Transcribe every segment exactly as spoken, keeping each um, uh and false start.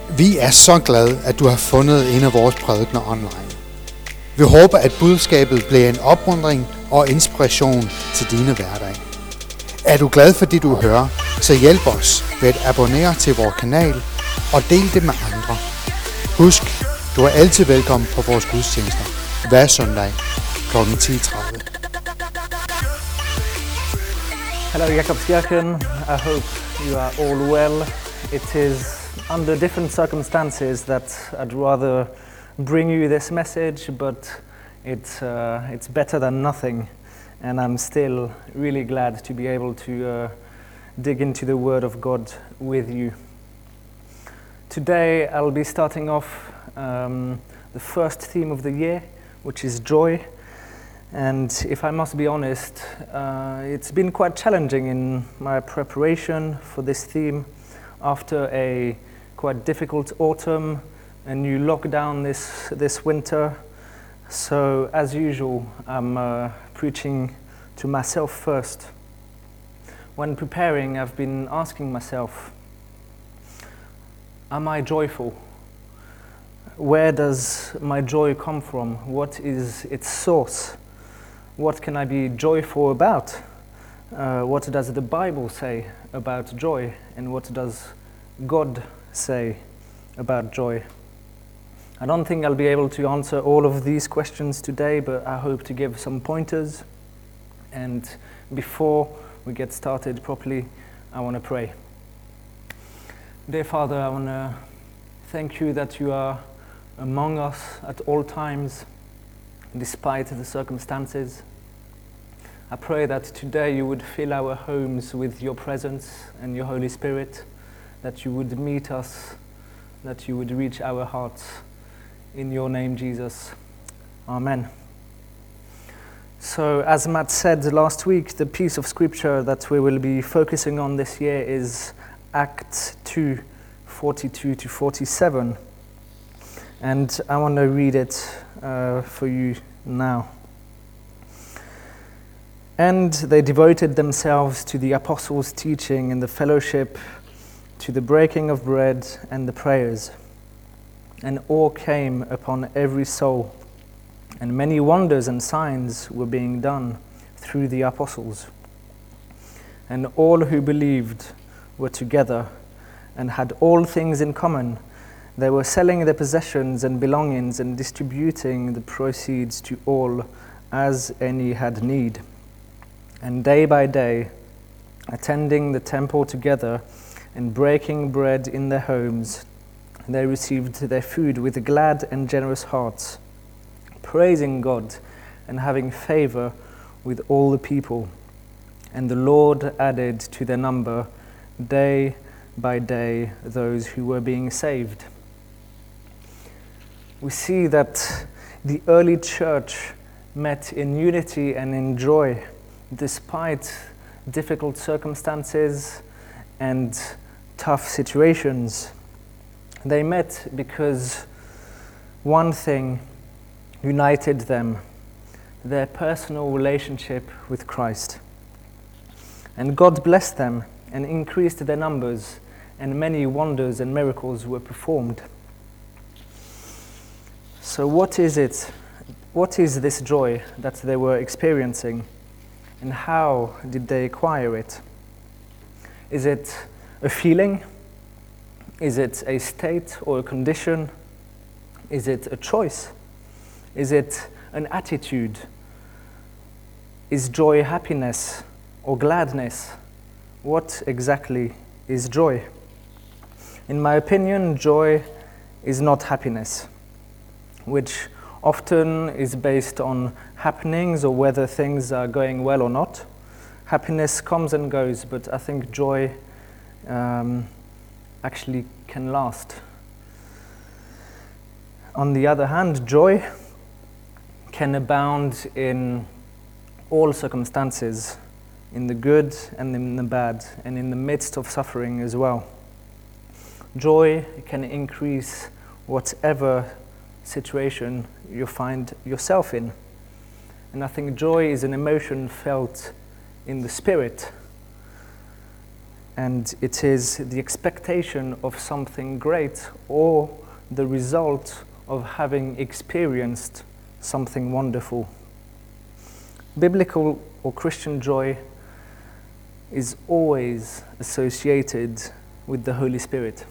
Vi er så glade, at du har fundet en af vores prædikener online. Vi håber, at budskabet bliver en opmuntring og inspiration til dine hverdage. Er du glad for det, du hører, så hjælp os ved at abonnere til vores kanal og del det med andre. Husk, du er altid velkommen på vores gudstjenester hver søndag klokken ti tredive. Hello, Jakobskirken. I hope you are all well. It is under different circumstances that I'd rather bring you this message, but it's uh, it's better than nothing, and I'm still really glad to be able to uh, dig into the Word of God with you. Today I'll be starting off um, the first theme of the year, which is joy. And if I must be honest, uh, it's been quite challenging in my preparation for this theme after a quite difficult autumn, a new lockdown this this winter. So as usual, I'm uh, preaching to myself first. When preparing, I've been asking myself, am I joyful? Where does my joy come from? What is its source? What can I be joyful about? Uh, what does the Bible say about joy? And what does God say about joy? I don't think I'll be able to answer all of these questions today, but I hope to give some pointers. And before we get started properly, I want to pray. Dear Father, I want to thank you that you are among us at all times, despite the circumstances. I pray that today you would fill our homes with your presence and your Holy Spirit, that you would meet us, that you would reach our hearts. In your name, Jesus. Amen. So, as Matt said last week, the piece of scripture that we will be focusing on this year is Acts two, forty-two to forty-seven. And I want to read it uh, for you now. And they devoted themselves to the apostles' teaching and the fellowship, to the breaking of bread and the prayers. And awe came upon every soul, and many wonders and signs were being done through the apostles. And all who believed were together and had all things in common. They were selling their possessions and belongings and distributing the proceeds to all as any had need. And day by day, attending the temple together and breaking bread in their homes, they received their food with glad and generous hearts, praising God and having favor with all the people. And the Lord added to their number day by day those who were being saved. We see that the early church met in unity and in joy, despite difficult circumstances and tough situations. They met because one thing united them, their personal relationship with Christ. And God blessed them and increased their numbers, and many wonders and miracles were performed. So what is it? What is this joy that they were experiencing? And how did they acquire it? Is it a feeling? Is it a state or a condition? Is it a choice? Is it an attitude? Is joy happiness or gladness? What exactly is joy? In my opinion, joy is not happiness, which often is based on happenings or whether things are going well or not. Happiness comes and goes, but I think joy um, actually can last. On the other hand, joy can abound in all circumstances, in the good and in the bad, and in the midst of suffering as well. Joy can increase whatever situation you find yourself in. And I think joy is an emotion felt in the spirit. and it is the expectation of something great or the result of having experienced something wonderful. Biblical or Christian joy is always associated with the Holy Spirit.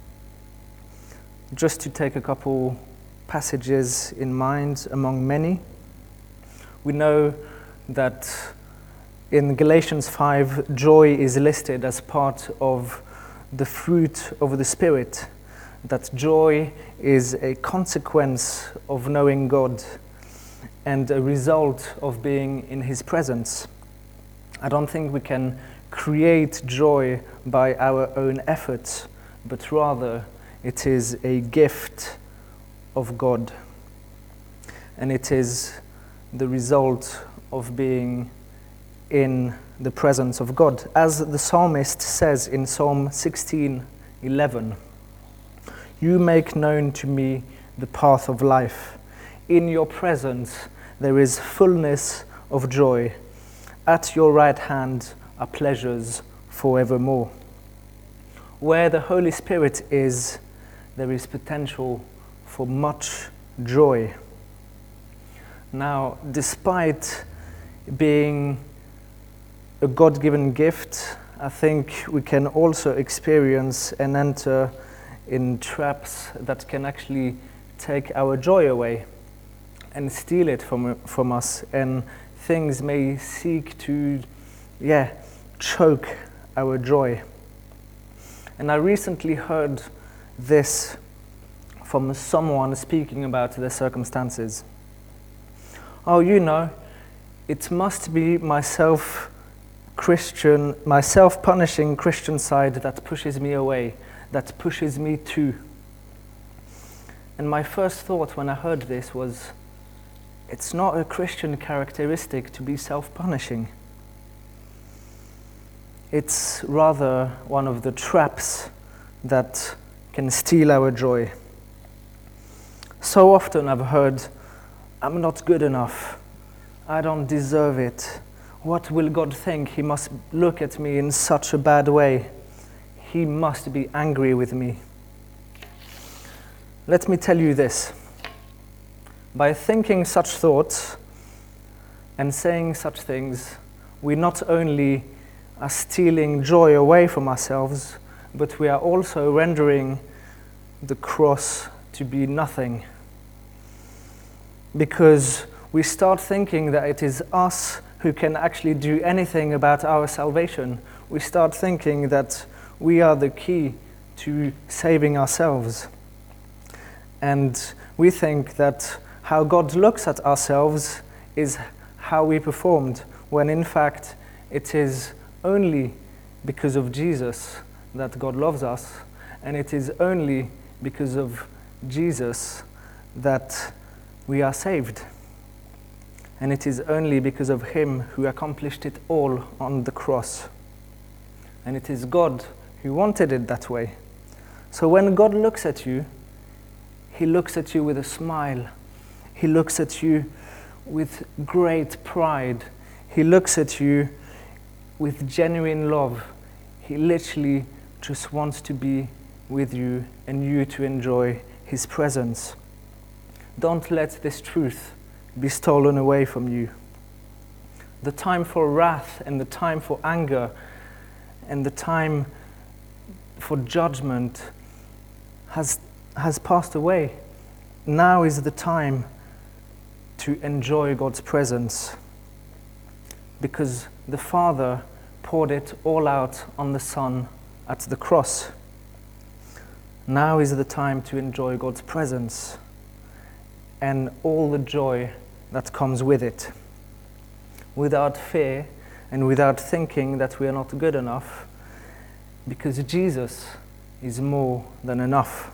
Just to take a couple passages in mind among many, we know that in Galatians five, joy is listed as part of the fruit of the Spirit, that joy is a consequence of knowing God and a result of being in His presence. I don't think we can create joy by our own efforts, but rather it is a gift of God. And it is the result of being in the presence of God. As the psalmist says in Psalm sixteen eleven, "You make known to me the path of life. In your presence there is fullness of joy. At your right hand are pleasures forevermore." Where the Holy Spirit is, there is potential for much joy. Now, despite being a God-given gift, I think we can also experience and enter in traps that can actually take our joy away and steal it from from us, and things may seek to, yeah, choke our joy. And I recently heard this from someone speaking about their circumstances. Oh, you know, it must be myself Christian, my self-punishing Christian side that pushes me away, that pushes me to. And my first thought when I heard this was, it's not a Christian characteristic to be self-punishing. It's rather one of the traps that can steal our joy. So often I've heard, I'm not good enough. I don't deserve it. What will God think? He must look at me in such a bad way. He must be angry with me. Let me tell you this. By thinking such thoughts and saying such things, we not only are stealing joy away from ourselves, but we are also rendering the cross to be nothing. Because we start thinking that it is us who can actually do anything about our salvation. We start thinking that we are the key to saving ourselves. And we think that how God looks at ourselves is how we performed, when in fact it is only because of Jesus that God loves us, and it is only because of Jesus that we are saved. And it is only because of Him who accomplished it all on the cross. And it is God who wanted it that way. So when God looks at you, He looks at you with a smile. He looks at you with great pride. He looks at you with genuine love. He literally just wants to be with you and you to enjoy His presence. Don't let this truth be stolen away from you. The time for wrath and the time for anger and the time for judgment has, has passed away. Now is the time to enjoy God's presence, because the Father poured it all out on the Son at the cross. Now is the time to enjoy God's presence and all the joy that comes with it, without fear and without thinking that we are not good enough, because Jesus is more than enough.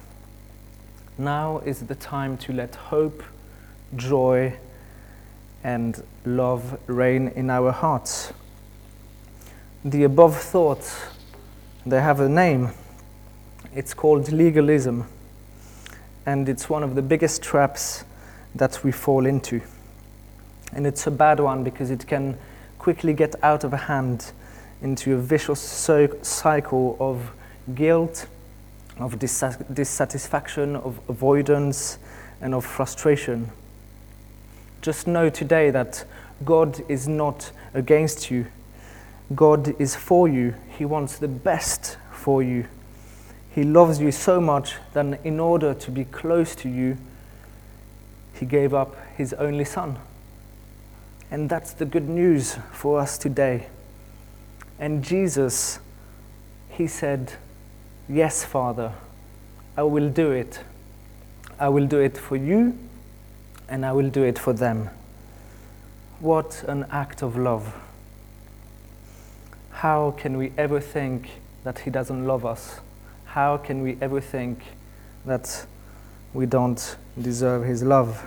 Now is the time to let hope, joy, and love reign in our hearts. The above thoughts, they have a name. It's called legalism, and it's one of the biggest traps that we fall into. And it's a bad one because it can quickly get out of hand into a vicious so- cycle of guilt, of dis- dissatisfaction, of avoidance, and of frustration. Just know today that God is not against you. God is for you. He wants the best for you. He loves you so much that in order to be close to you, He gave up His only Son. And that's the good news for us today. And Jesus, He said, "Yes, Father, I will do it. I will do it for you, and I will do it for them." What an act of love. How can we ever think that He doesn't love us? How can we ever think that we don't deserve His love?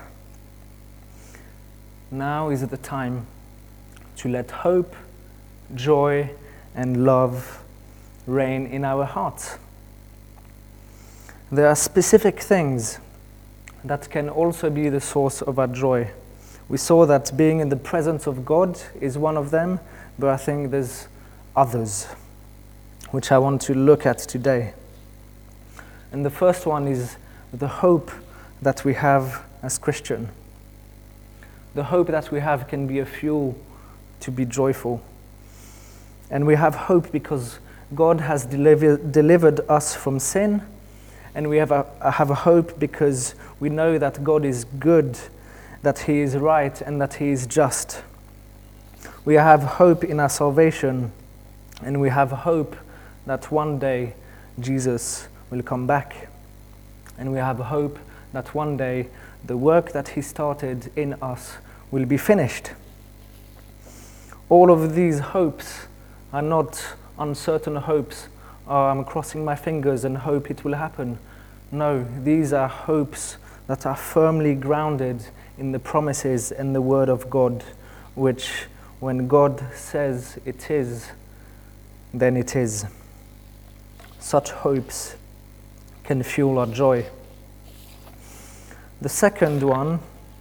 Now is the time to let hope, joy, and love reign in our hearts. There are specific things that can also be the source of our joy. We saw that being in the presence of God is one of them, but I think there's others, which I want to look at today. And the first one is the hope that we have as Christian. The hope that we have can be a fuel to be joyful. And we have hope because God has deliver, delivered us from sin, and we have a, have a hope because we know that God is good, that He is right, and that He is just. We have hope in our salvation, and we have hope that one day Jesus will come back. And we have hope that one day the work that He started in us will be finished. All of these hopes are not uncertain hopes. Oh, I'm crossing my fingers and hope it will happen. No, these are hopes that are firmly grounded in the promises and the Word of God, which when God says it is, then it is. Such hopes can fuel our joy. The second one,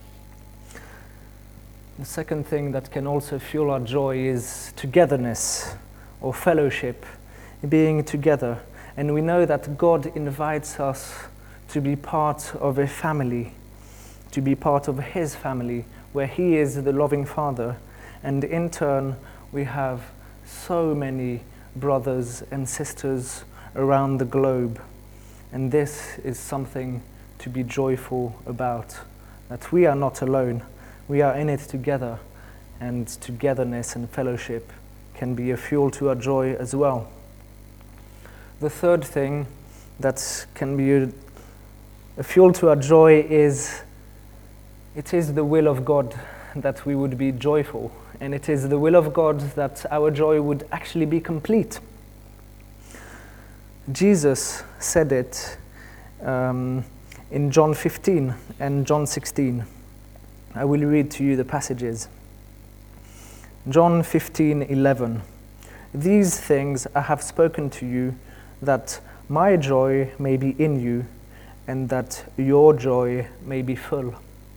the second thing that can also fuel our joy is togetherness or fellowship, being together. And we know that God invites us to be part of a family, to be part of His family, where He is the loving Father. And in turn, we have so many brothers and sisters around the globe. And this is something to be joyful about, that we are not alone. We are in it together, and togetherness and fellowship can be a fuel to our joy as well. The third thing that can be a, a fuel to our joy is it is the will of God that we would be joyful, and it is the will of God that our joy would actually be complete. Jesus said it um, in John fifteen and John sixteen. I will read to you the passages. John fifteen eleven. "These things I have spoken to you, that my joy may be in you, and that your joy may be full."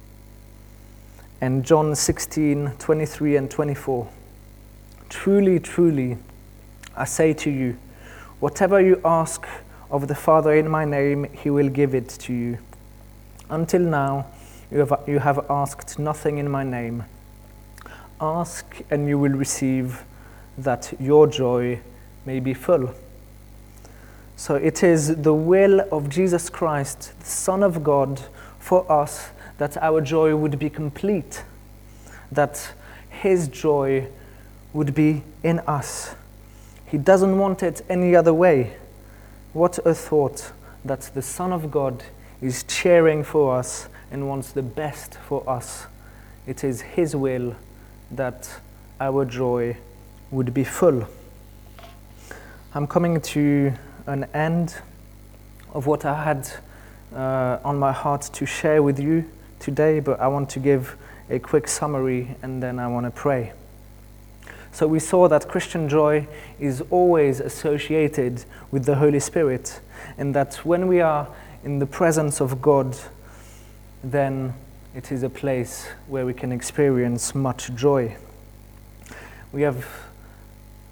And John sixteen twenty-three and twenty-four. "Truly, truly, I say to you, whatever you ask of the Father in my name, He will give it to you. Until now, you have, you have asked nothing in my name. Ask and you will receive, that your joy may be full." So it is the will of Jesus Christ, the Son of God, for us that our joy would be complete, that His joy would be in us. He doesn't want it any other way. What a thought that the Son of God is cheering for us and wants the best for us. It is His will that our joy would be full. I'm coming to an end of what I had uh, on my heart to share with you today, but I want to give a quick summary and then I want to pray. So we saw that Christian joy is always associated with the Holy Spirit, and that when we are in the presence of God, then it is a place where we can experience much joy. We have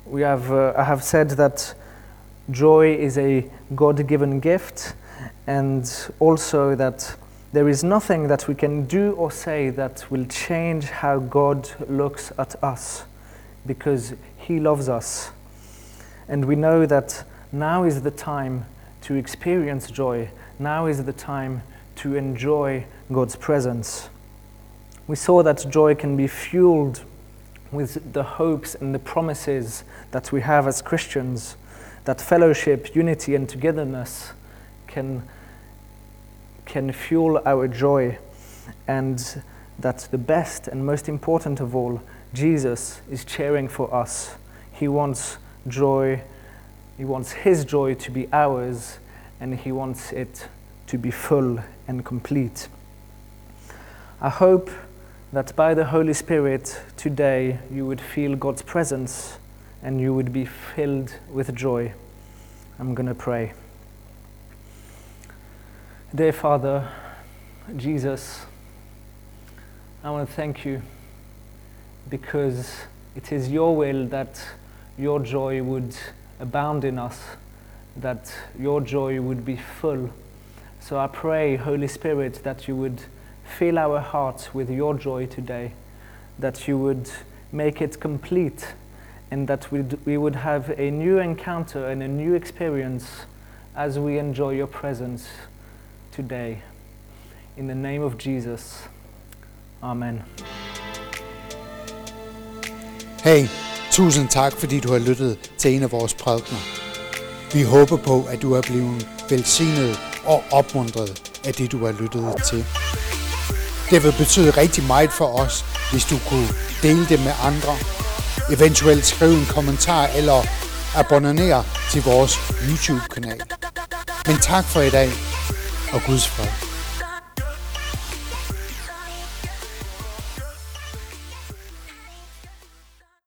We have, uh, I have said that joy is a God-given gift, and also that there is nothing that we can do or say that will change how God looks at us, because He loves us. And we know that now is the time to experience joy. Now is the time to enjoy God's presence. We saw that joy can be fueled with the hopes and the promises that we have as Christians, that fellowship, unity, and togetherness can, can fuel our joy, and that the best and most important of all, Jesus is cheering for us. He wants joy, He wants His joy to be ours, and He wants it to be full and complete. I hope that by the Holy Spirit today you would feel God's presence and you would be filled with joy. I'm going to pray. Dear Father, Jesus, I want to thank you because it is your will that your joy would abound in us, that your joy would be full. So I pray, Holy Spirit, that you would fill our hearts with your joy today, that you would make it complete, and that we'd, we would have a new encounter and a new experience as we enjoy your presence today. In the name of Jesus, Amen. Hey, tusind tak, fordi du har lyttet til en af vores prædikener. Vi håber på, at du er blevet velsignet og opmuntret af det, du har lyttet til. Det vil betyde rigtig meget for os, hvis du kunne dele det med andre, eventuelt skrive en kommentar eller abonnere til vores YouTube-kanal. Men tak for i dag, og Guds fred.